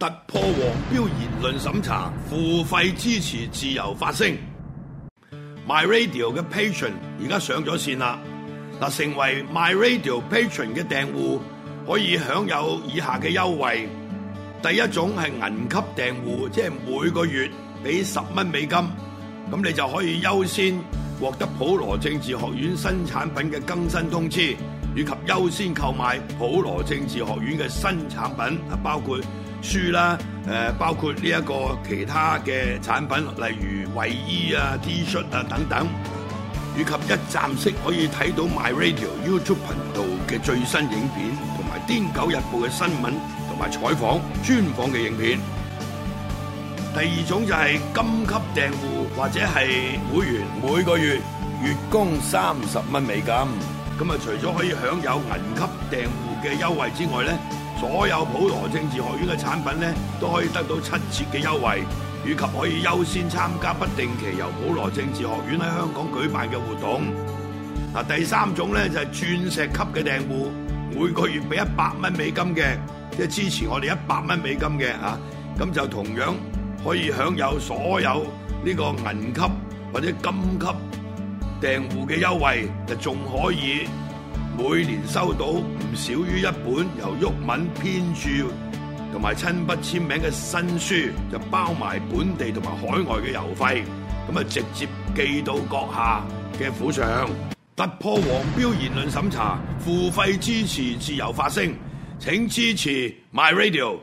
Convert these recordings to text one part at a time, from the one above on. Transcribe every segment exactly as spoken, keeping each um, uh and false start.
突破黃標言論審查，付費支持自由發聲。My Radio 嘅 Patron 而家上咗線啦，嗱，成為 My Radio Patron 嘅訂戶可以享有以下嘅優惠。第一種係銀級訂戶，即係每個月俾十蚊美金，咁你就可以優先獲得普羅政治學院新產品嘅更新通知，以及優先購買普羅政治學院嘅新產品，啊，包括書啦，誒，包括呢一個其他嘅產品，例如衛衣啊、T 恤啊等等，以及一站式可以睇到 My Radio YouTube 頻道嘅最新影片，同埋《癲狗日報》嘅新聞同埋採訪專訪嘅影片。第二種就係金級訂戶或者係會員，每個月月供三十蚊美金。咁啊，除咗可以享有銀級訂戶嘅優惠之外咧，所有普羅政治學院嘅產品咧都可以得到七折嘅優惠，以及可以優先參加不定期由普羅政治學院喺香港舉辦嘅活動。嗱，第三種咧就係鑽石級嘅訂戶，每個月俾一百蚊美金嘅，即係支持我哋一百蚊美金嘅啊，咁就同樣可以享有所有呢個銀級或者金級訂戶嘅優惠，就仲可以每年收到唔少於一本由毓民編著同埋親筆簽名嘅新書，就包埋本地同埋海外嘅郵費，咁啊直接寄到閣下嘅府上。突破黃標言論審查，付費支持自由發聲，請支持 My Radio。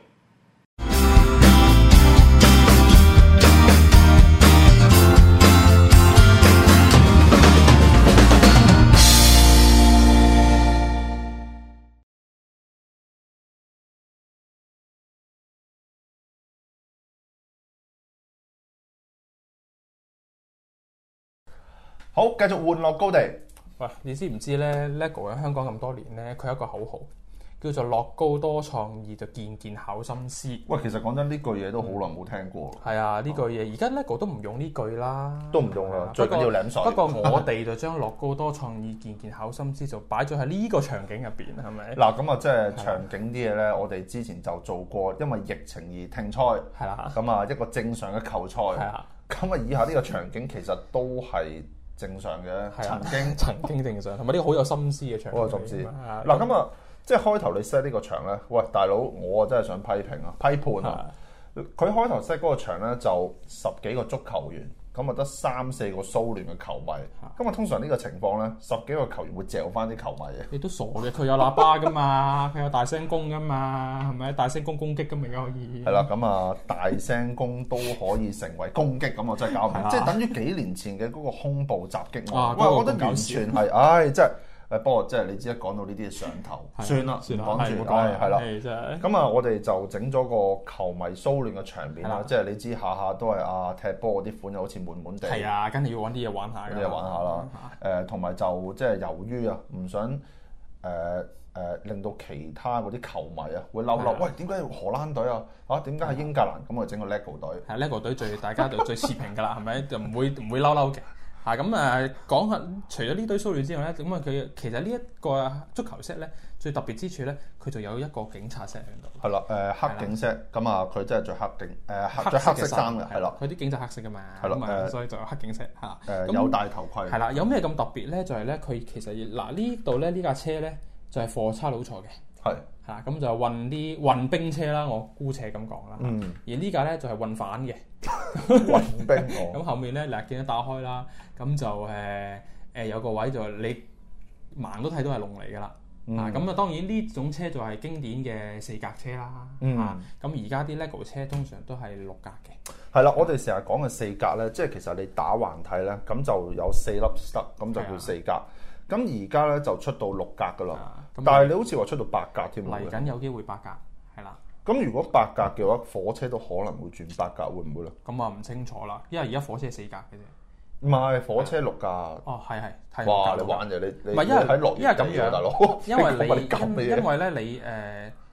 好，繼續玩樂高地。 喂，你知唔知咧 ？LEGO 喺香港咁多年咧，佢有一個口號叫做樂高多創意，就件件考心思。 喂，其實講真，呢句嘢都好耐冇聽過。 係啊，呢句嘢而家 LEGO 都唔用呢句啦， 都唔用啦，最緊要舐水。 不過我哋就將樂高多創意，件件考心思就擺咗喺呢個場景入邊，係咪？ 嗱，咁啊，即係場景啲嘢咧，我哋之前就做過，因為疫情而停賽。係啦。咁啊，一個正常嘅球賽。係啊。咁啊，以下呢個場景其實都係正常嘅，曾經曾經正常，同埋呢個好有心思嘅場景。 好有心思。嗱，咁啊，即係開頭你 set 呢個場咧，喂，大佬，我真係想批評啊、批判啊。佢開頭 set 嗰個場咧就十幾個足球員，咁啊得三四個蘇聯嘅球迷。咁啊，通常呢個情況咧，十幾個球員會嚼翻啲球迷嘅。 你都傻嘅，佢有喇叭噶嘛，佢有大聲公噶嘛，係咪？大聲公攻擊咁咪可以。 係啦，咁啊，大聲公都可以成為攻擊，咁我真係搞唔明。即係等於幾年前嘅嗰個恐怖襲擊案。喂，我覺得完全係，唉，即係。誒，不過即係你知一講到呢啲上頭，算啦，唔講住，係係啦。咁啊，我哋就整咗個球迷騷亂嘅場面啦。即係你知下下都係啊踢波嗰啲款又好似悶悶地。係啊， 跟住要揾啲嘢玩下。 啲嘢玩下啦。誒，同埋就即係由於啊，唔想誒誒令到其他嗰啲球迷啊會嬲嬲。喂，點解荷蘭隊啊？嚇，點解係英格蘭？咁我整個 LEGO 隊。係 LEGO 隊最大家就最持平㗎啦，係咪？就唔會唔會嬲嬲嘅。啊咁誒講下，除咗呢堆騷亂之外咧，咁啊佢其實呢一個足球 set 咧，最特別之處咧，佢就有一個警察 set 喺度。 係啦，誒黑警 set，咁啊佢真係着黑警誒黑著黑色衫嘅，係啦。 佢啲警察黑色㗎嘛， 係咯，誒所以就有黑警 set 嚇。 誒有戴頭盔。 係啦，有咩咁特別咧？就係咧，佢其實嗱呢度咧呢架車咧就係貨差佬坐嘅。係。嚇咁就運啲運兵車啦，我姑且咁講啦。嗯。而呢架咧就係運反嘅。 運兵哦。 咁後面咧嗱，見到打開啦，咁就誒誒、呃、有個位就你盲都睇到係龍嚟㗎啦。嗯、啊咁啊，當然呢種車就係經典嘅四格車啦。嗯。啊咁而家啲 LEGO 車通常都係六格嘅。 係啦，我哋成日講嘅四格咧，即係其實你打橫睇咧，咁就有四粒 stud，咁就叫四格。咁而家咧就出到六格㗎啦。啊、但係你好似話出到八格添。 嚟緊有機會八格，係啦。 咁如果八格嘅話，火車都可能會轉八格，會唔會咧？ 咁啊唔清楚啦，因為而家火車係四格嘅啫。 唔係火車六格。 哦，係係係。 哇！你玩嘢你你唔係因為喺落因為咁樣， 大佬。 因為你因為咧你誒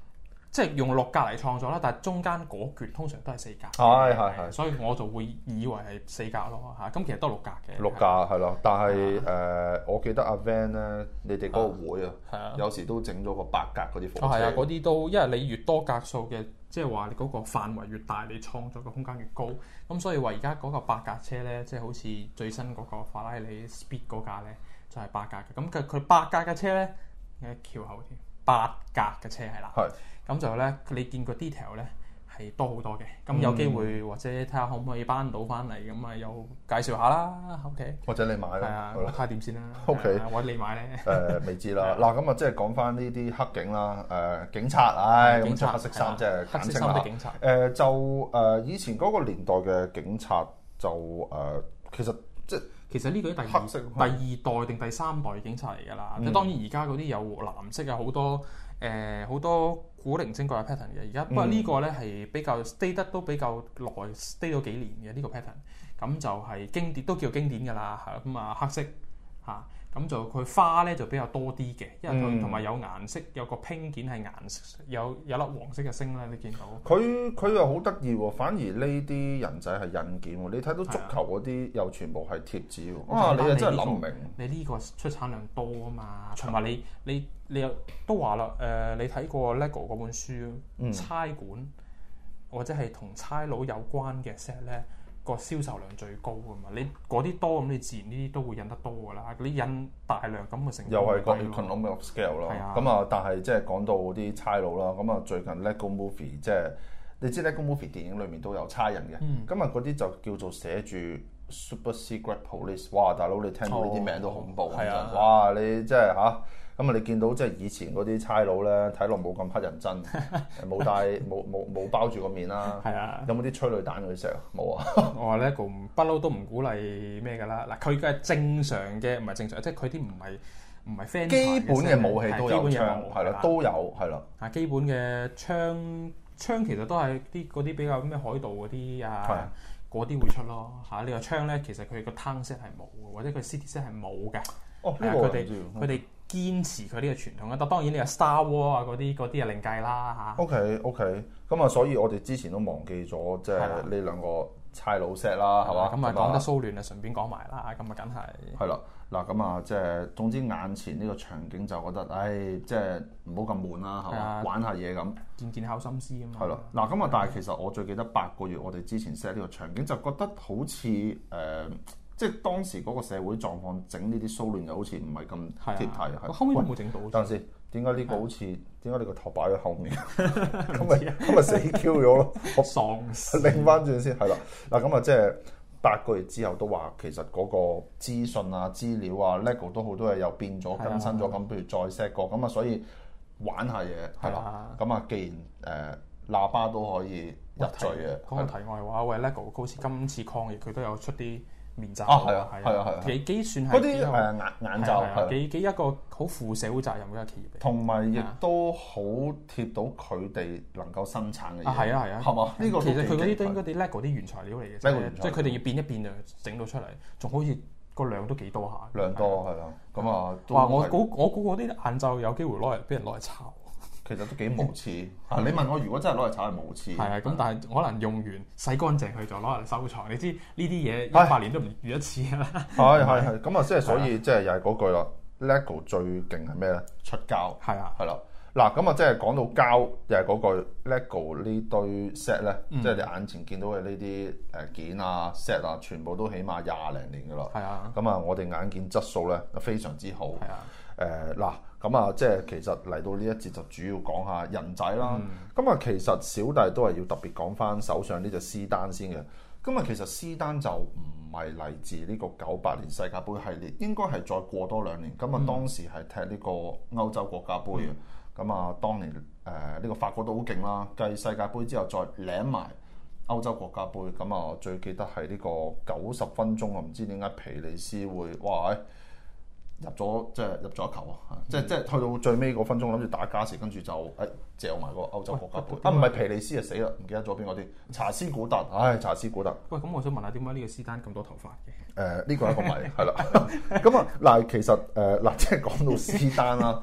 即係用六格嚟創作啦，但係中間嗰橛通常都係四格。 係係係， 所以我就會以為係四格咯嚇。咁其實都係六格嘅。 六格係咯，但係誒，我記得阿 Van 咧，你哋嗰個會啊，有時都整咗個八格嗰啲火車。 係啊，嗰啲都因為你越多格數嘅，即係話你嗰個範圍越大，你創作嘅空間越高。咁所以話而家嗰個八格車咧，即係好似最新嗰個法拉利 Speed 嗰架咧，就係八格嘅。咁佢佢八格嘅車咧，喺橋後添，八格嘅車係啦。係。咁就咧，你見個 detail 咧係多好多嘅。咁有機會或者睇下可唔可以搬到翻嚟，咁啊又介紹下啦。OK。或者你買啦。 係啊，睇下點先啦。 OK。 或者你買咧？ 誒未知啦。嗱咁啊，即係講翻呢啲黑警啦。誒警察，唉，咁着黑色衫即係簡稱啦。黑色衫的警察。誒就誒以前嗰個年代嘅警察就誒其實即係其實呢個係第二第二代定第三代警察嚟㗎啦。咁當然而家嗰啲有藍色啊，好多。誒好、呃、多古靈精怪嘅 pattern 嘅，而家不過呢個咧係比較 stay 得都比較耐 stay 咗幾年嘅呢、這個 pattern，咁就係經典都叫經典㗎啦，係咁啊黑色嚇，咁、啊、就佢花咧就比較多啲嘅，因為佢同埋有顏色，有個拼件係顏色，有有粒黃色嘅星咧，你見到。佢佢又好得意喎，反而呢啲人仔係印件喎，你睇到足球嗰啲又全部係貼紙喎。啊，你又真係諗唔明。 你呢個出產量多啊嘛，同埋你你。你你又都話啦，誒、呃，你睇過 LEGO 嗰本書，嗯、差館或者係同差佬有關嘅 set 咧，個銷售量最高㗎嘛。你嗰啲多咁，你自然呢啲都會印得多㗎啦。嗰啲印大量咁嘅成本， 又係個 economy of scale 啦。咁啊，但係即係講到啲差佬啦，咁啊最近 LEGO Movie 即係你知 LEGO Movie 電影裏面都有差人嘅，咁啊嗰啲就叫做寫住 Super Secret Police。哇，大佬你聽到呢啲名都恐怖啊！哦、哇，你即係嚇。咁啊！你見到即係以前嗰啲差佬咧，睇落冇咁乞人憎，冇戴冇冇冇包住個面啦。係啊，有冇啲催淚彈嗰啲石啊？冇啊！我話咧個不嬲都唔鼓勵咩㗎啦。嗱，佢嘅正常嘅唔係正常，即係佢啲唔係唔係 fan。基本嘅武器都有槍，係啦，都有係啦。啊，基本嘅槍槍其實都係啲嗰啲比較咩海盜嗰啲啊，嗰啲會出咯嚇。你話槍咧，其實佢個 town set 係冇嘅，或者佢 city set 係冇嘅。哦，呢個佢哋佢哋。堅持佢呢個傳統啦，但當然你話 Star War 啊嗰啲嗰啲啊另計啦嚇。OK OK，咁啊，所以我哋之前都忘記咗即係呢兩個差佬 set 啦，係嘛？咁啊講得騷亂啊，順便講埋啦，咁啊梗係。係啦，嗱咁啊，即係總之眼前呢個場景就覺得，唉，即係唔好咁悶啦，係嘛？玩下嘢咁，見見考心思啊嘛。係咯，嗱咁啊，但係其實我最記得八個月我哋之前 set 呢個場景，就覺得好似誒。即係當時嗰個社會狀況整呢啲騷亂又好似唔係咁貼題，係。後尾都冇整到。等陣先，點解呢個好似點解你個頭擺喺後面？咁咪咁咪死 Q 咗咯！我喪屍。擰翻轉先，係啦。嗱咁啊，即係八個月之後都話其實嗰個資訊啊、資料啊、LEGO 都好多嘢又變咗、更新咗，咁不如再 set 過，咁啊所以玩下嘢係啦。咁啊，既然誒喇叭都可以入罪嘅。講個題外話，喂 LEGO 好似今次抗疫佢都有出啲面罩啊，係啊，係啊，係啊，幾幾算係嗰啲誒眼眼罩，係幾幾一個好負社會責任嘅一個企業，同埋亦都好貼到佢哋能夠生產嘅嘢。係啊係啊，係嘛？呢個其實佢嗰啲都應該啲 LEGO 啲原材料嚟嘅，即係佢哋要變一變就整到出嚟，仲好似個量都幾多下。量多係啦，咁啊，哇！我估我估嗰啲眼罩有機會攞嚟俾人攞嚟炒。其實都幾無恥啊！你問我，如果真係攞嚟炒係無恥。係啊，咁但係可能用完洗乾淨佢就攞嚟收藏。你知呢啲嘢一百年都唔遇一次啦。係係係，咁啊，即係所以即係又係嗰句啦。LEGO 最勁係咩咧？出膠。係啊，係啦。嗱，咁啊，即係講到膠，又係嗰句 LEGO 呢堆 set 咧，即係你眼前見到嘅呢啲誒件啊 set 啊，全部都起碼廿零年噶啦。係啊。咁啊，我哋眼見質素咧非常之好。係啊。誒嗱。咁啊，即係其實嚟到呢一節就主要講下人仔啦。咁啊、嗯，其實小弟都係要特別講翻手上呢隻斯丹先嘅。咁啊，其實斯丹就唔係嚟自呢個九八年世界盃系列，應該係再過多兩年。咁啊、嗯，當時係踢呢個歐洲國家盃嘅。咁啊、嗯，當年誒呢、呃這個法國都好勁啦，繼世界盃之後再領埋歐洲國家盃。咁啊，最記得係呢個九十分鐘啊，唔知點解皮利斯會哇入咗即係入咗一球啊！嗯、即係即係去到最尾嗰分鐘，諗住打加時，跟住就誒嚼埋個歐洲國家盃。啊，唔係皮利斯啊，死啦！唔記得咗邊個啲？查斯古特，唉，查斯古特。喂，咁我想問下，點解呢個斯丹咁多頭髮嘅？誒、呃，呢、這個係一個謎，係啦。咁啊，嗱，其實誒嗱、呃，即係講到斯丹啦，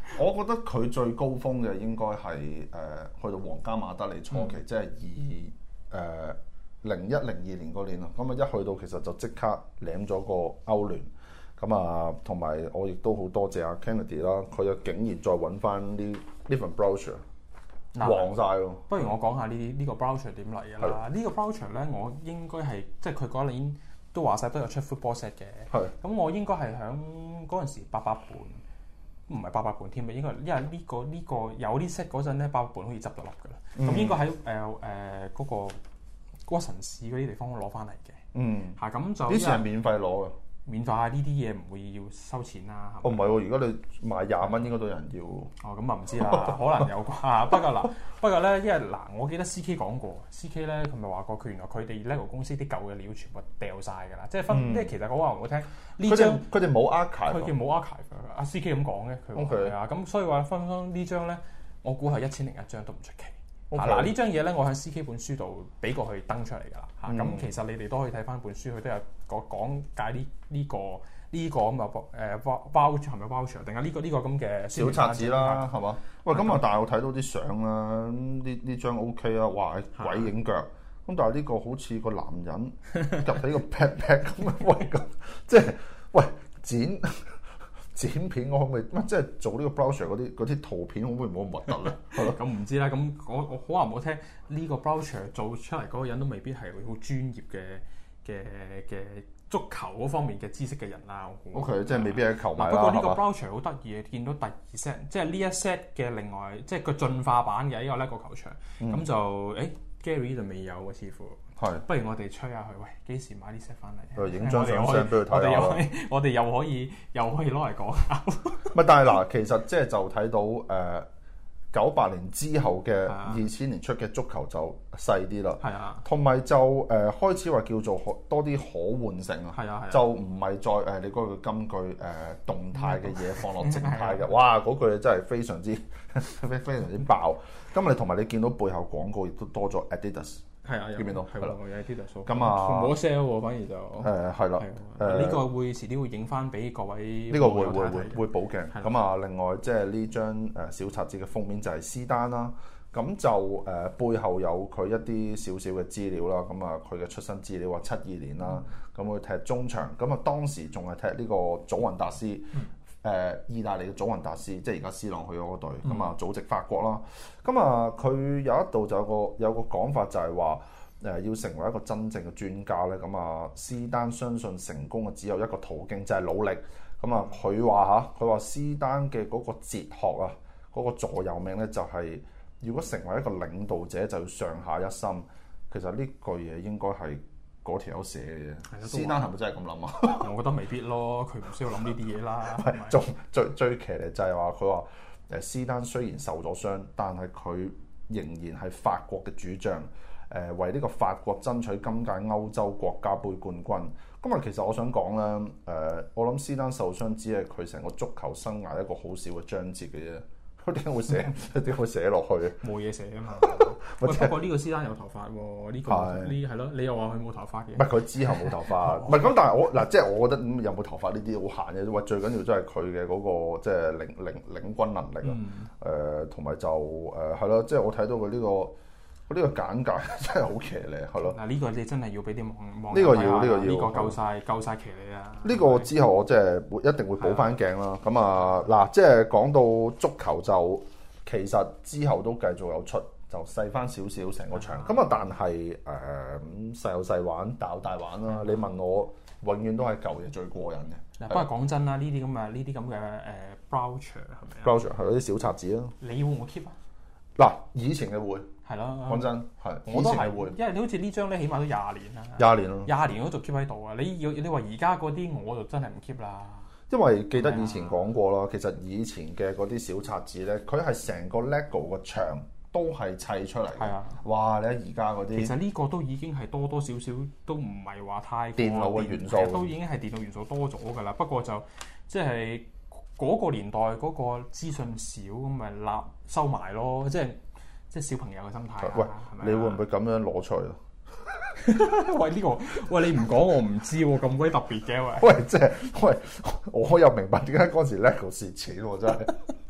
我覺得佢最高峰嘅應該係誒去到皇家馬德里初期，嗯、即係二誒零一零二年嗰年咯。咁啊一去到其實就即刻領咗個歐聯。咁啊，同埋我亦都好多謝阿 Kennedy 啦，佢又竟然再揾翻啲呢份 brochure 黃晒咯。 不如我講下呢啲呢個 brochure 點嚟嘅啦。呢個 brochure 咧，我應該係即係佢嗰年都話晒都有出 football set 嘅。係。咁我應該係響嗰陣時八百盤，唔係八百盤添啊，應該因為呢、呢個呢、呢個有啲 set 嗰陣咧，八百盤好似執咗笠㗎啦。咁、嗯、應該喺誒誒嗰個屈臣氏嗰啲地方攞翻嚟嘅。嗯。嚇咁就。呢次係免費攞嘅。免費呢啲嘢唔會要收錢啦。 哦，唔係喎，如果你賣廿蚊，應該都有人要。 哦，咁啊唔知啦，可能有啩。不過嗱，不過咧，因為嗱，我記得 C K 講過 ，C K 咧佢咪話過，佢原來佢哋 LEGO 公司啲舊嘅料全部掉晒㗎啦，即係分，即係、嗯、其實我話唔好聽，呢張佢哋冇 archive， 佢叫冇 archive。阿 C K 咁講嘅，佢話係啊，咁所以話分分呢張咧，我估係一千零一張都唔出奇。嗱 Okay. 呢張嘢咧，我喺 C K 本書度俾過去登出嚟㗎啦嚇。咁、嗯、其實你哋都可以睇翻本書，佢都有講講解呢、呢、呢個呢、呢個咁嘅誒包係咪 voucher 定係呢個呢、呢個咁嘅小冊子啦，係嘛？喂，咁啊，但係我睇到啲相啦，呢呢張 OK 啊，哇鬼影腳咁，但係呢個好似個男人入喺個 pat pat 咁啊，喂咁即係喂剪。剪片我可唔可以乜即係做呢個 brochure 嗰啲嗰啲圖片可唔可以唔好咁核突咧？係咯， 咁唔知啦。咁我我好話唔好聽，呢個 brochure 做出嚟嗰個人都未必係好專業嘅嘅嘅足球嗰方面嘅知識嘅人啦。 O K， 即係未必係球迷啦。 不過呢個 brochure 好得意嘅，見到第二 set， 即係呢一 set 嘅另外即係個進化版嘅呢個 LEGO 球場，咁、嗯、就誒 Gary 就未有喎，似乎。係，不如我哋吹下佢，喂，幾時買啲 set 翻嚟？ 影張相相俾佢睇下。 我哋又可以又可以攞嚟講下。 唔係，但係嗱，其實即係就睇到誒九八年之後嘅二千年出嘅足球就細啲啦。係啊，同埋就誒、呃、開始話叫做可多啲可換性啊。係啊，就唔係再誒、呃、你嗰句金句誒、呃、動態嘅嘢放落靜態嘅。哇，嗰句真係非常之非非常之爆。咁你同埋你見到背後廣告亦都多咗 Adidas。係啊，見唔見到？係啦，有啲特數。咁啊，冇 sell 喎，反而就誒係啦。誒呢個會遲啲會影翻俾各位。呢個會會會會補鏡。咁啊，另外即係呢張誒小冊子嘅封面就係斯丹啦。咁就誒背後有佢一啲少少嘅資料啦。咁啊，佢嘅出生資料話七二年啦。咁佢踢中場。咁啊，當時仲係踢呢個祖雲達斯。誒，意大利嘅祖雲達斯，即係而家 C 朗去咗嗰隊，咁啊、嗯、祖籍法國啦。咁啊，佢有一度就有個有個講法就係話，誒要成為一個真正嘅專家咧，咁啊斯丹相信成功嘅只有一個途徑，就係、是、努力。咁啊，佢話嚇，佢話斯丹嘅嗰個哲學啊，嗰、那個座右銘咧就係、是，如果成為一個領導者，就要上下一心。其實呢句嘢應該係嗰條友寫嘅啫，斯丹係咪真係咁諗啊？ 我覺得未必咯，佢唔需要諗呢啲嘢啦。 仲最最騎呢就係話佢話誒斯丹雖然受咗傷，但係佢仍然係法國嘅主將，誒、呃、為呢個法國爭取今屆歐洲國家杯冠軍。咁啊，其實我想講咧，誒、呃、我諗斯丹受傷只係佢成個足球生涯一個好少嘅章節嘅啫。點解會寫？點解會寫落去？ 冇嘢寫啊嘛。喂，不過呢個斯丹有頭髮喎，呢、這個呢係咯，你又話佢冇頭髮嘅。 唔係佢之後冇頭髮，唔係咁，但係我嗱，即係我覺得咁有冇頭髮呢啲好閒嘅。喂，最緊要真係佢嘅嗰個即係領領領軍能力啊。誒同埋就誒係咯，即係我睇到佢呢、這個。呢個簡介真係好騎呢，係咯。 嗱，呢個你真係要俾啲網網呢個要，呢個要， 呢個夠晒夠曬騎呢啊！ 呢個之後我即係會一定會補翻鏡啦。咁啊嗱，即係講到足球就其實之後都繼續有出，就細翻少少成個場。咁啊，但係誒細有細玩，大有大玩啦。你問我，永遠都係舊嘢最過癮嘅。 嗱，不過講真啦，呢啲咁嘅呢啲咁嘅誒 brochure 係咪啊 brochure 係嗰啲小冊子啦。 你會唔會 keep 啊？ 嗱，以前嘅會。係咯， 講真係， 我都係會，因為你好似呢張咧，起碼都廿年啦， 廿年咯， 廿年我都仲 keep 喺度啊！你要你話而家嗰啲，我就真係唔 keep 啦。 因為記得以前講過啦，其實以前嘅嗰啲小冊子咧，佢係成個 LEGO 個牆都係砌出嚟嘅。係啊，哇！你睇而家嗰啲， 其實呢個都已經係多多少少都唔係話太電腦嘅元素， 都已經係電腦元素多咗㗎啦。不過就即係嗰個年代嗰個資訊少，咁咪立收埋咯，即係。即係小朋友嘅心態。 喂，你會唔會咁樣攞出嚟啊？ 喂，呢、呢個喂你唔講我唔知喎，咁鬼特別嘅喂。 喂，即係喂，我又明白點解嗰時 LEGO 蝕錢喎，真係。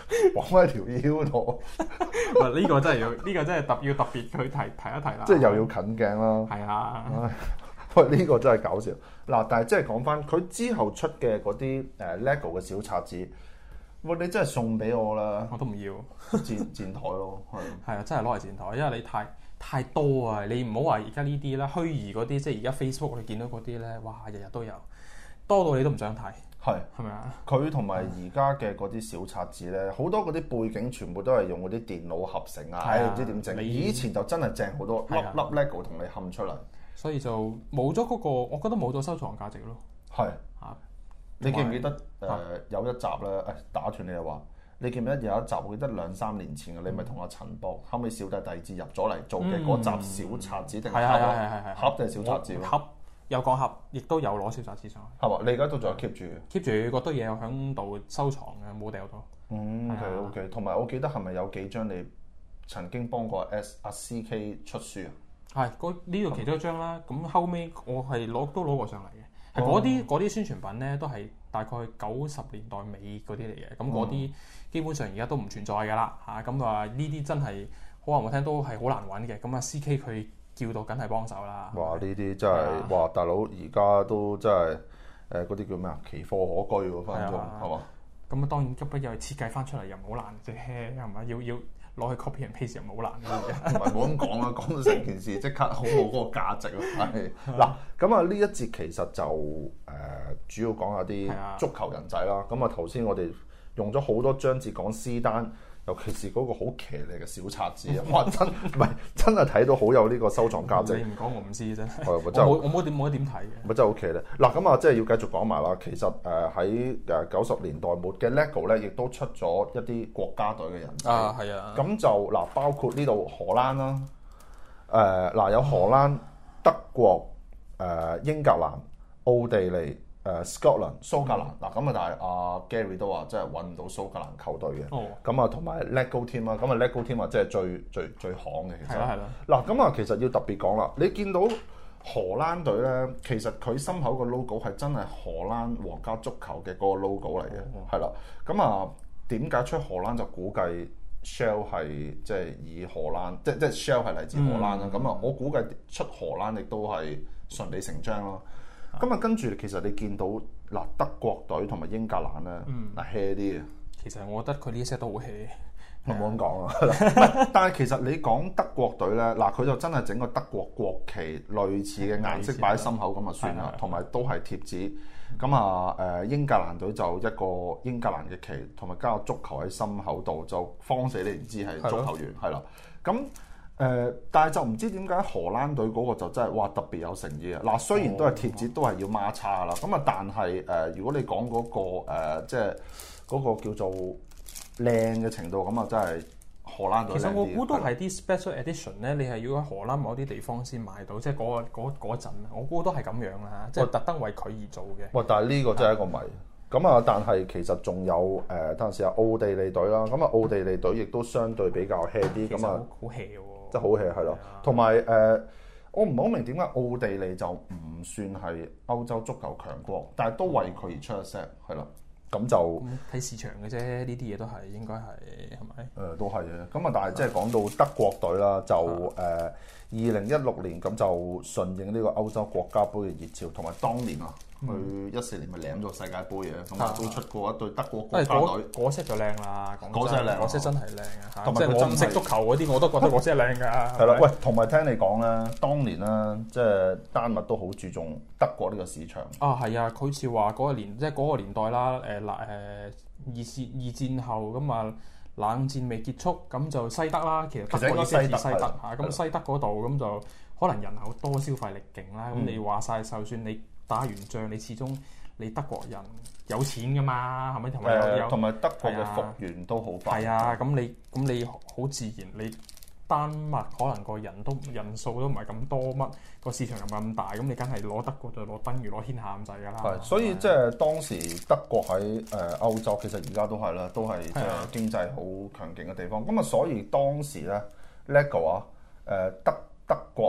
綁喺條腰度。 嗱呢個真係要，呢、呢個真係特要特別去提提一提啦。 即係又要近鏡啦。 係啊。 喂，呢、呢個真係搞笑。嗱，但係即係講翻佢之後出嘅嗰啲誒 LEGO 嘅小冊子，喂，你真係送俾我啦。 我都唔要。 墊墊台咯，係。 係啊，真係攞嚟墊台，因為你太太多啊！你唔好話而家呢啲啦，虛擬嗰啲，即係而家 Facebook 你見到嗰啲咧，哇，日日都有，多到你都唔想睇。 係係咪啊？ 佢同埋而家嘅嗰啲小冊子咧，好多嗰啲背景全部都係用嗰啲電腦合成啊，唔知點整。以前就真係正好多，粒粒 LEGO 同你冚出嚟。所以就冇咗嗰個，我覺得冇咗收藏價值咯。 係啊，你記唔記得誒、呃、有一集咧？誒打斷你又話，你記唔記得有一集？我記得兩三年前嘅，你咪同阿陳博後尾小弟弟子入咗嚟做嘅嗰集小冊子定係盒啊？盒定係小冊子？ 盒有講盒，亦都有攞小冊子上去。 係嘛？你而家都仲有 keep 住 keep 住嗰堆嘢喺度收藏嘅，冇掉到。 嗯 OK OK，同埋我記得係咪有幾張你曾經幫過 S 阿 C K 出書啊？ 係，呢度其中一張啦。咁後尾我係攞都攞過上嚟嘅，係嗰啲嗰啲宣傳品咧，都係大概九十年代尾嗰啲嚟嘅。咁嗰啲基本上而家都唔存在㗎啦嚇。咁啊呢啲真係好話唔好聽都係好難揾嘅。咁啊 C K 佢叫到梗係幫手啦。 哇！呢啲真係哇，大佬而家都真係誒嗰啲叫咩啊？奇貨可居喎，分分鐘係嘛？ 咁啊當然急不又設計翻出嚟又唔好難啫，係咪？要要。攞去 copy and paste 又唔好難嘅， 唔係冇咁講啦，講到成件事即刻好冇嗰個價值咯。係嗱，咁啊呢一節其實就誒、呃、主要講下啲足球人仔啦。咁啊頭先我哋用咗好多章節講斯丹，尤其是嗰個好騎呢嘅小冊子啊！哇，真唔係真係睇到好有呢個收藏價值。 你唔講我唔知啫。 係我冇我冇點冇得點睇嘅。 咪真係好騎呢。嗱咁啊，即係要繼續講埋啦。其實誒喺誒九十年代末嘅 LEGO 咧，亦都出咗一啲國家隊嘅人仔啊，係啊。 咁就嗱，包括呢度荷蘭啦，誒、呃、嗱有荷蘭、德國、誒、呃、英格蘭、奧地利。誒 Scotland 蘇格蘭嗱咁啊，但係阿 Gary 都話真係揾唔到蘇格蘭球隊嘅，咁啊同埋 LEGO team 啦，咁啊 LEGO team 啊即係最最最行嘅其實。係啦係啦。嗱咁啊，其實要特別講啦，你見到荷蘭隊咧，其實佢心口個 logo 係真係荷蘭皇家足球嘅嗰個 logo 嚟嘅，係啦。咁啊點解出荷蘭就估計 Shell 係即係以荷蘭，即即係 Shell 係嚟自荷蘭啦。咁啊、嗯，我估計出荷蘭亦都係順理成章咯。咁啊，跟住其實你見到嗱德國隊同埋英格蘭咧，嗱 hea 啲嘅。 其實我覺得佢呢 set 都好 hea， 我冇咁講啊。但係其實你講德國隊咧，嗱佢就真係整個德國國旗類似嘅顏色擺喺心口咁就算啦，同埋都係貼紙。咁啊誒英格蘭隊就一個英格蘭嘅旗，同埋加個足球喺心口度，就慌死你唔知係足球員係啦。咁誒、呃，但係就唔知點解荷蘭隊嗰個就真係哇特別有誠意啊！嗱，雖然都係貼紙，都係要孖叉啦。咁啊，但係誒、呃，如果你講嗰、那個、呃、即係嗰個叫做靚嘅程度，咁啊真係荷蘭隊。其實我估都係啲 special edition 咧，你係要喺荷蘭某啲地方先買到，即係嗰、那個嗰陣我估都係咁樣啦，即係特登為佢而做嘅。喂， 但係呢個真係一個謎。咁啊，但係其實仲有誒、呃，等陣時啊，奧地利隊啦。咁啊，奧地利隊亦都相對比較 hea 啲，咁啊， 好 hea 喎。 即係好 hea 係咯，同埋誒，我唔係好明點解奧地利就唔算係歐洲足球強國，但係都為佢而出一 set 係啦，咁就睇市場嘅啫，呢啲嘢都係應該係係咪？誒、 呃，都係嘅。咁啊，但係即係講到德國隊啦，就誒二零一六年咁就順應呢個歐洲國家杯嘅熱潮，同埋當年啊。佢一四年咪領咗世界盃嘅，咁啊都出過一隊德國國家隊。 嗰 set 就靚啦， 嗰 set 靚， 嗰 set 真係靚啊！ 同埋佢唔識足球嗰啲，我都覺得嗰 set 靚㗎。 係啦，喂，同埋聽你講咧，當年咧，即係丹麥都好注重德國呢個市場。 啊，係啊，佢好似話嗰個年，即係嗰個年代啦，誒嗱誒二戰二戰後咁啊，冷戰未結束，咁就西德啦，其實德國亦係西德嚇，咁西德嗰度咁就可能人口多，消費力勁啦，咁你話晒，就算你打完仗，你始終你德國人有錢噶嘛，係咪？同埋有同埋德國嘅復原都好快。 係啊，咁你咁你好自然，你丹麥可能個人都人數都唔係咁多，乜個市場又唔係咁大，咁你梗係攞德國就攞等於攞天下咁滯㗎啦。 係，所以即係當時德國喺誒歐洲，其實而家都係啦，都係即係經濟好強勁嘅地方。咁啊，所以當時咧 LEGO 啊，誒德德國啊。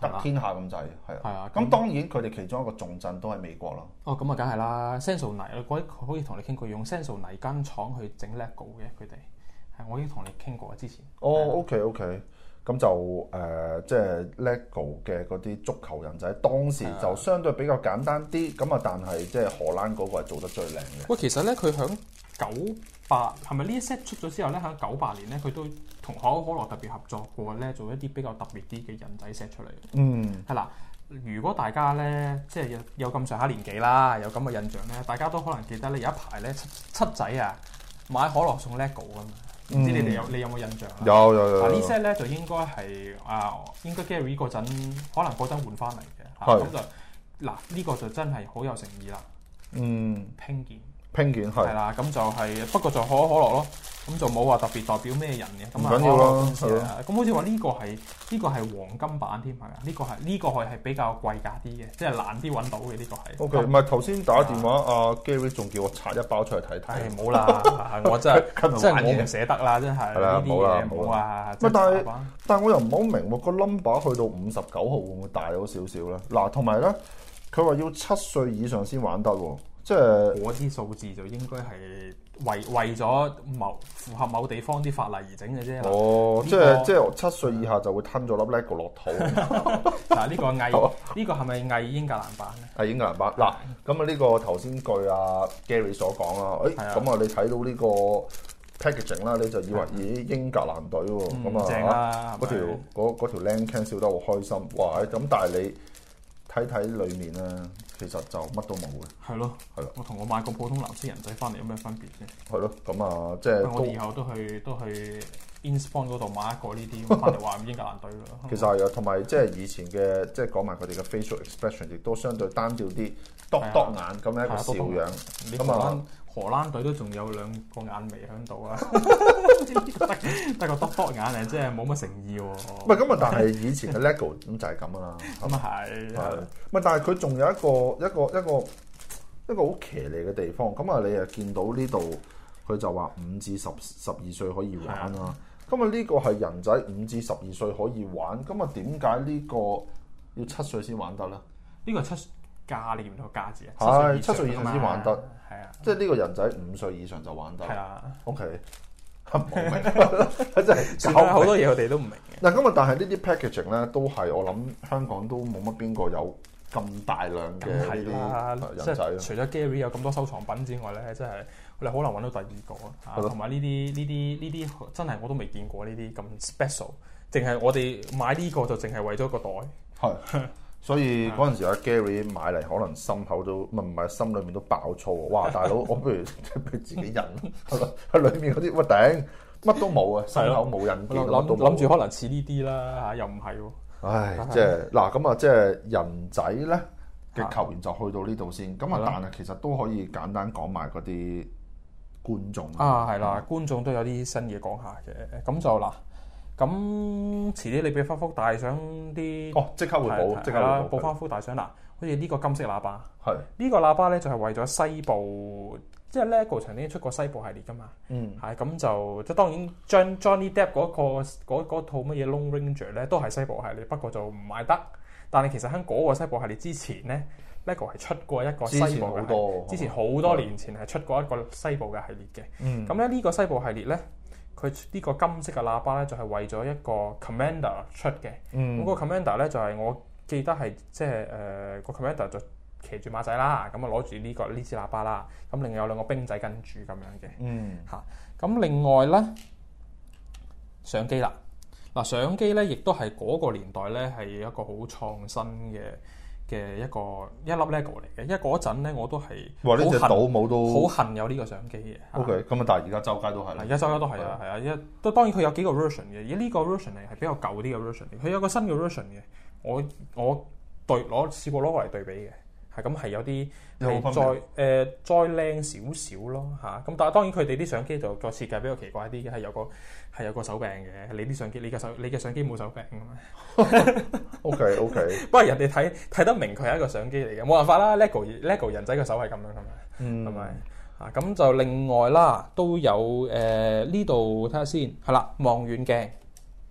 得天下咁滯，係係啊。 咁當然佢哋其中一個重鎮都係美國啦。 哦，咁啊，梗係啦 ，Senso 泥，嗰啲可以同你傾過，用 Senso 泥間廠去整 LEGO 嘅，佢哋係我已經同你傾過之前。 哦 ，OK OK，咁就誒、呃，即係 LEGO 嘅嗰啲足球人仔，當時就相對比較簡單啲，咁啊，但係即係荷蘭嗰個係做得最靚嘅。 喂，其實咧，佢響九八係咪呢一 set 出咗之後咧，喺九八年咧，佢都同可口可樂特別合作過咧，做一啲比較特別啲嘅人仔 set 出嚟。嗯，係啦。如果大家咧即係有有咁上下年紀啦，有咁嘅印象咧，大家都可能記得咧有一排咧七七仔啊買可樂送 LEGO 㗎嘛。唔知你哋有你有冇印象啊？ 有有有。 嗱呢 set 咧就應該係啊，應該 Gary 嗰陣可能嗰陣換翻嚟嘅。係。咁就嗱呢個就真係好有誠意啦。嗯。拼件。拼件係。係啦，咁就係不過就可口可樂咯，咁就冇話特別代表咩人嘅。咁啊， 緊要咯。 咁好似話呢個係呢個係黃金版添係咪啊？呢個係呢個係係比較貴價啲嘅，即係難啲揾到嘅呢個係。O K，唔係頭先打電話阿 Gary 仲叫我拆一包出嚟睇睇。冇啦，我真係真係我唔捨得啦，真係呢啲嘢冇啊。 但係但係我又唔係好明喎，個 number 去到五十九號會唔會大咗少少咧？嗱，同埋咧，佢話要七歲以上先玩得喎。即係嗰啲數字就應該係為為咗某符合某地方啲法例而整嘅啫。 哦，這個、即係即係七歲以下就會吞咗粒 LEGO 落肚。 嗱，呢個偽呢個係咪偽英格蘭版咧？ 係英格蘭版。嗱，咁啊呢個頭先據阿 Gary 所講啦，誒咁啊你睇到呢個 packaging 啦，你就以為咦英格蘭隊喎，咁、嗯、啊嗰條嗰嗰條靚 can 笑得好開心，哇！咁但係你睇睇裡面咧。其實就乜都冇嘅。係咯，係咯。我同我買個普通藍色人仔翻嚟有咩分別啫？係咯，咁啊，即係我以後都去都去 Inspawn 嗰度買一個呢啲，翻嚟話英格蘭隊咯。其實係啊，同埋即係以前嘅，即係講埋佢哋嘅 facial expression，亦都相對單調啲，篤篤眼咁樣一個笑樣。咁啊，荷蘭隊都仲有兩個眼眉喺度啊，得個篤篤眼啊，即係冇乜誠意喎。唔係咁啊，但係以前嘅 LEGO 咁就係咁啊。咁啊係。係。唔係，但係佢仲有一個一個一個一個好騎呢嘅地方。咁啊，你又見到呢度佢就話五至十十二歲可以玩啦。咁啊，呢個係人仔五至十二歲可以玩。咁啊，點解呢個要七歲先玩得咧？呢個七價你唔到價字啊？係七歲以上先玩得。係啊，即係呢個人仔五歲以上就玩得。係啊。O K。冇明，真係搞好多嘢，我哋都唔明嘅。嗱，咁啊，但係呢啲 packaging 咧，都係我諗香港都冇乜邊個有咁大量嘅呢啲人仔。除咗 Gary 有咁多收藏品之外咧，真係我哋好難揾到第二個啊。同埋呢啲呢啲呢啲真係我都未見過呢啲咁 special。淨係我哋買呢個就淨係為咗個袋。係。所以嗰陣時阿 Gary 買嚟，可能心口都唔係唔係心裏面都爆粗。哇！大佬，我不如俾自己印係咯，喺裏面嗰啲乜頂乜都冇啊，心口冇印件，諗諗住可能似呢啲啦嚇，又唔係喎。唉，即係嗱咁啊，即係人仔咧嘅球員就去到呢度先。咁啊，但係其實都可以簡單講埋嗰啲觀眾啊，係啦，觀眾都有啲新嘢講下嘅。咁就嗱。咁遲啲你俾翻幅大相啲哦，即刻會補，即刻會補翻幅大相嗱，好似呢個金色喇叭，係呢個喇叭咧就係為咗西部，即係 LEGO 曾經出過西部系列噶嘛，嗯，係咁就即係當然將 Johnny Depp 嗰個嗰套乜嘢 Lone Ranger 咧都係西部系列，不過就唔賣得。但係其實喺嗰個西部系列之前咧 ，LEGO 係出過一個西部嘅，之前好多，之前好多年前係出過一個西部嘅系列嘅，嗯，咁咧呢個西部系列咧。佢呢個金色嘅喇叭咧，就係、是、為咗一個 Commander 出嘅。咁、嗯、個 Commander 咧就係、是、我記得係即係誒個 Commander 就騎住馬仔啦，咁啊攞住呢個呢支喇叭啦。咁另外有兩個兵仔跟住咁樣嘅。嗯，嚇。咁另外咧相機啦，嗱相機咧亦都係嗰個年代咧係一個好創新嘅嘅一個一粒 LEGO 嚟嘅，因為嗰陣咧我都係哇呢隻島冇都好恨有呢個相機嘅。O K，咁啊，但係而家周街都係，而家周街都係啊，係啊，一都當然佢有幾個 version 嘅，而呢個 version 係係比較舊啲嘅 version 嘅，佢有個新嘅 version 嘅，我我對攞試過攞過嚟對比嘅，係咁係有啲係再誒、呃、再靚少少咯嚇，咁但係當然佢哋啲相機就個設計比較奇怪啲嘅，係有個係有個手柄嘅，你啲相機你嘅手你嘅相機冇手柄㗎嘛？O K O K， 不過人哋睇睇得明佢係一個相機嚟嘅，冇辦法啦 ，LEGO LEGO 人仔嘅手係咁樣係咪？係咪啊？咁就另外啦，都有誒呢度睇下先，係啦，望遠鏡。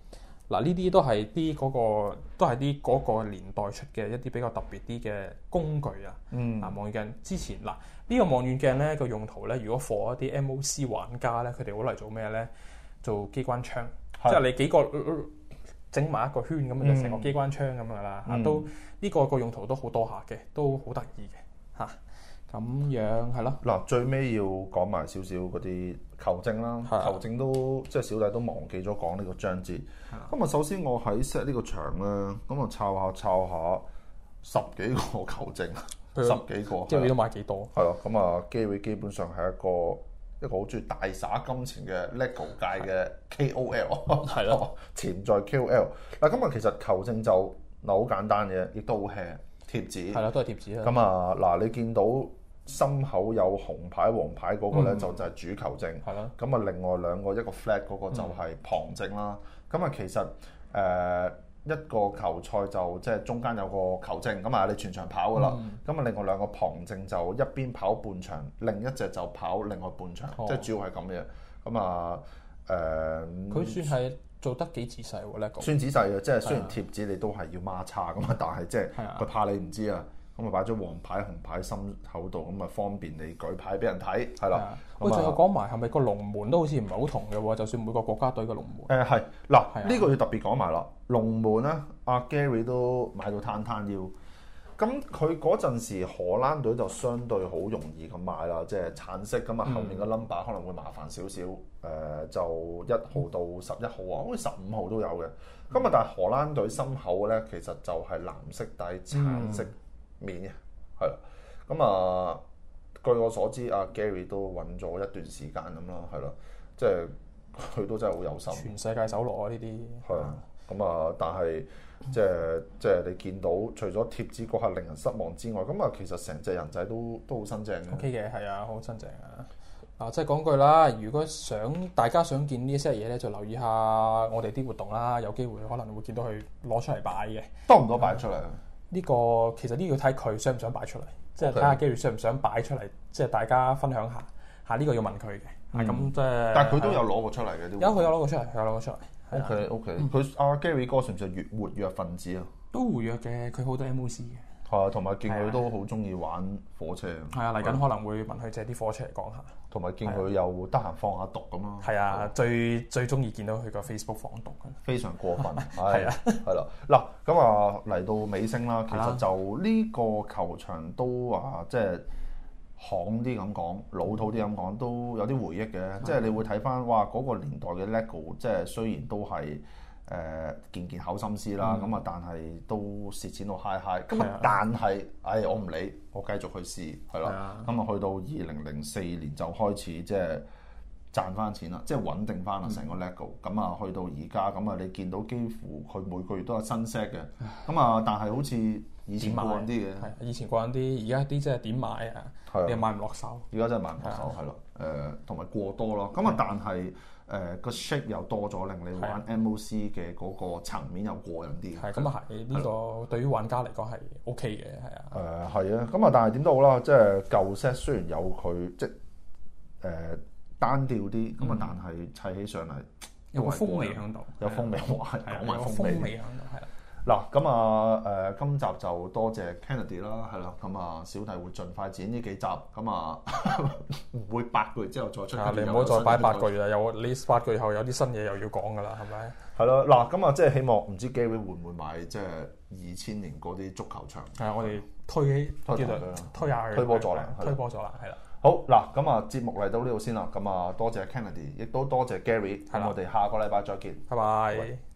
嗱，呢啲都係啲嗰個，都係啲嗰個年代出嘅一啲比較特別啲嘅工具啊。 嗯。 嗱，望遠鏡之前嗱，呢個望遠鏡咧個用途咧，如果 for 一啲 M O C 玩家咧，佢哋好嚟做咩咧？做機關槍，即係你幾個整埋一個圈咁樣就成個機關槍咁樣啦。嚇、嗯，都呢個個用途都好多下嘅，都好得意嘅嚇。咁樣係咯。嗱， 最尾要講埋少少嗰啲球證啦。球證都即係小弟都忘記咗講呢個章節。咁啊，首先我喺 set 呢個場咧，咁啊抄下抄下十幾個球證，十幾個。 即係你都買幾多？ 係咯，咁啊，Gary基本上係一個一個好中意大灑金錢嘅 LEGO 界嘅 K O L， 係咯，潛在 K O L。嗱，咁啊，其實球證就嗱好簡單嘅，亦都好 hea 貼紙。係啦，都係貼紙啦。 咁啊，嗱，你見到心口有紅牌、黃牌嗰個咧，就就係主球證。係咯。咁啊，另外兩個一個 flag 嗰個就係旁證啦。咁啊，其實誒一個球賽就即係中間有個球證，咁啊你全場跑噶啦。咁啊，另外兩個旁證就一邊跑半場，另一隻就跑另外半場，即係主要係咁嘅。咁啊誒， 佢算係做得幾仔細喎呢個？ 算仔細嘅，即係雖然貼紙你都係要孖叉咁啊，但係即係佢怕你唔知啊。咁啊擺咗黃牌紅牌心口度，咁啊方便你舉牌俾人睇，係啦。 喂，仲有講埋係咪個龍門都好似唔係好同嘅喎？就算每個國家隊嘅龍門。 誒係嗱，呢個要特別講埋啦。龍門咧，阿 Gary 都買到攤攤腰。咁佢嗰陣時荷蘭隊就相對好容易咁買啦，即係橙色咁啊，後面個 number 可能會麻煩少少。誒、呃、就一號到十一號啊，好似十五號都有嘅。咁啊，但係荷蘭隊心口咧，其實就係藍色底橙色面嘅，係啦。咁啊，據我所知，阿 Gary 都揾咗一段時間咁啦，係啦，即係佢都真係好有心。 全世界首攞啊！呢啲係啊，咁啊，但係即係即係你見到，除咗貼紙嗰下令人失望之外，咁啊，其實成隻人仔都都好新淨嘅。 O K 嘅，係啊，好新淨啊！啊，即係講句啦，如果想大家想見呢一些嘢咧，就留意下我哋啲活動啦，有機會可能會見到佢攞出嚟擺嘅。 多唔多擺出嚟？ 呢、這個其實呢個要睇佢想唔想擺出嚟，即係睇下 Gary 想唔想擺出嚟，即係大家分享下嚇。呢、這個要問佢嘅，係咁即係。但係佢都有攞過出嚟嘅，有佢有攞過出嚟，有攞過出嚟。 O K O K，佢阿 Gary 哥算唔算越活躍分子啊？ 都活躍嘅，佢好多 M O C 嘅。 係啊，同埋見佢都好中意玩火車。 係啊，嚟緊可能會問佢借啲火車嚟講下。 同埋見佢又得閒放下毒咁咯。 係啊，最最中意見到佢個 Facebook 放毒嘅。 非常過分。係啊，係啦。嗱，咁啊嚟到尾聲啦，其實就呢個球場都啊，即係行啲咁講，老土啲咁講，都有啲回憶嘅。即係你會睇翻，哇嗰個年代嘅 LEGO，即係雖然都係。誒、呃、件件口心思啦，咁啊、嗯，但係都蝕錢到嗨嗨。咁啊，但係，唉、哎，我唔理，我繼續去試，係啦。咁啊，去到二零零四年就開始即係賺翻錢啦，即係穩定翻啦成個 LEGO。咁啊，去到而家，咁啊，你見到幾乎佢每個月都有新 set 嘅。咁啊，但係好似以前過癮啲嘅。係，以前過癮啲，而家啲即係點買啊？你又買唔落手。而家真係買唔落手，係咯。誒，同埋過多咯。咁啊，但係。誒個 shape 又多咗，令你玩 M O C 嘅嗰個層面又過癮啲。係咁啊，係呢個對於玩家嚟講係 O K 嘅，係啊。誒係啊，咁啊，但係點都好啦，即係舊 set 雖然有佢即係誒、呃、單調啲，咁啊、嗯，但係砌起上嚟有個風味喺度，有風味哇，講埋風味喺度，係啦。嗱，咁啊誒，今集就多謝 Kennedy 啦，係啦，咁啊小弟會盡快剪呢幾集，咁啊唔會八個月之後再出。你唔好再擺八個月啦，有你八個月後有啲新嘢又要講噶啦，係咪？係咯，嗱，咁啊即係希望唔知 Gary 會唔會買即係二千年嗰啲足球場？係啊，我哋推起推推推下佢，推波咗啦，推波咗啦，係啦。好嗱，咁啊節目嚟到呢度先啦，咁啊多謝 Kennedy，亦都多謝 Gary，咁我哋下個禮拜再見，拜拜。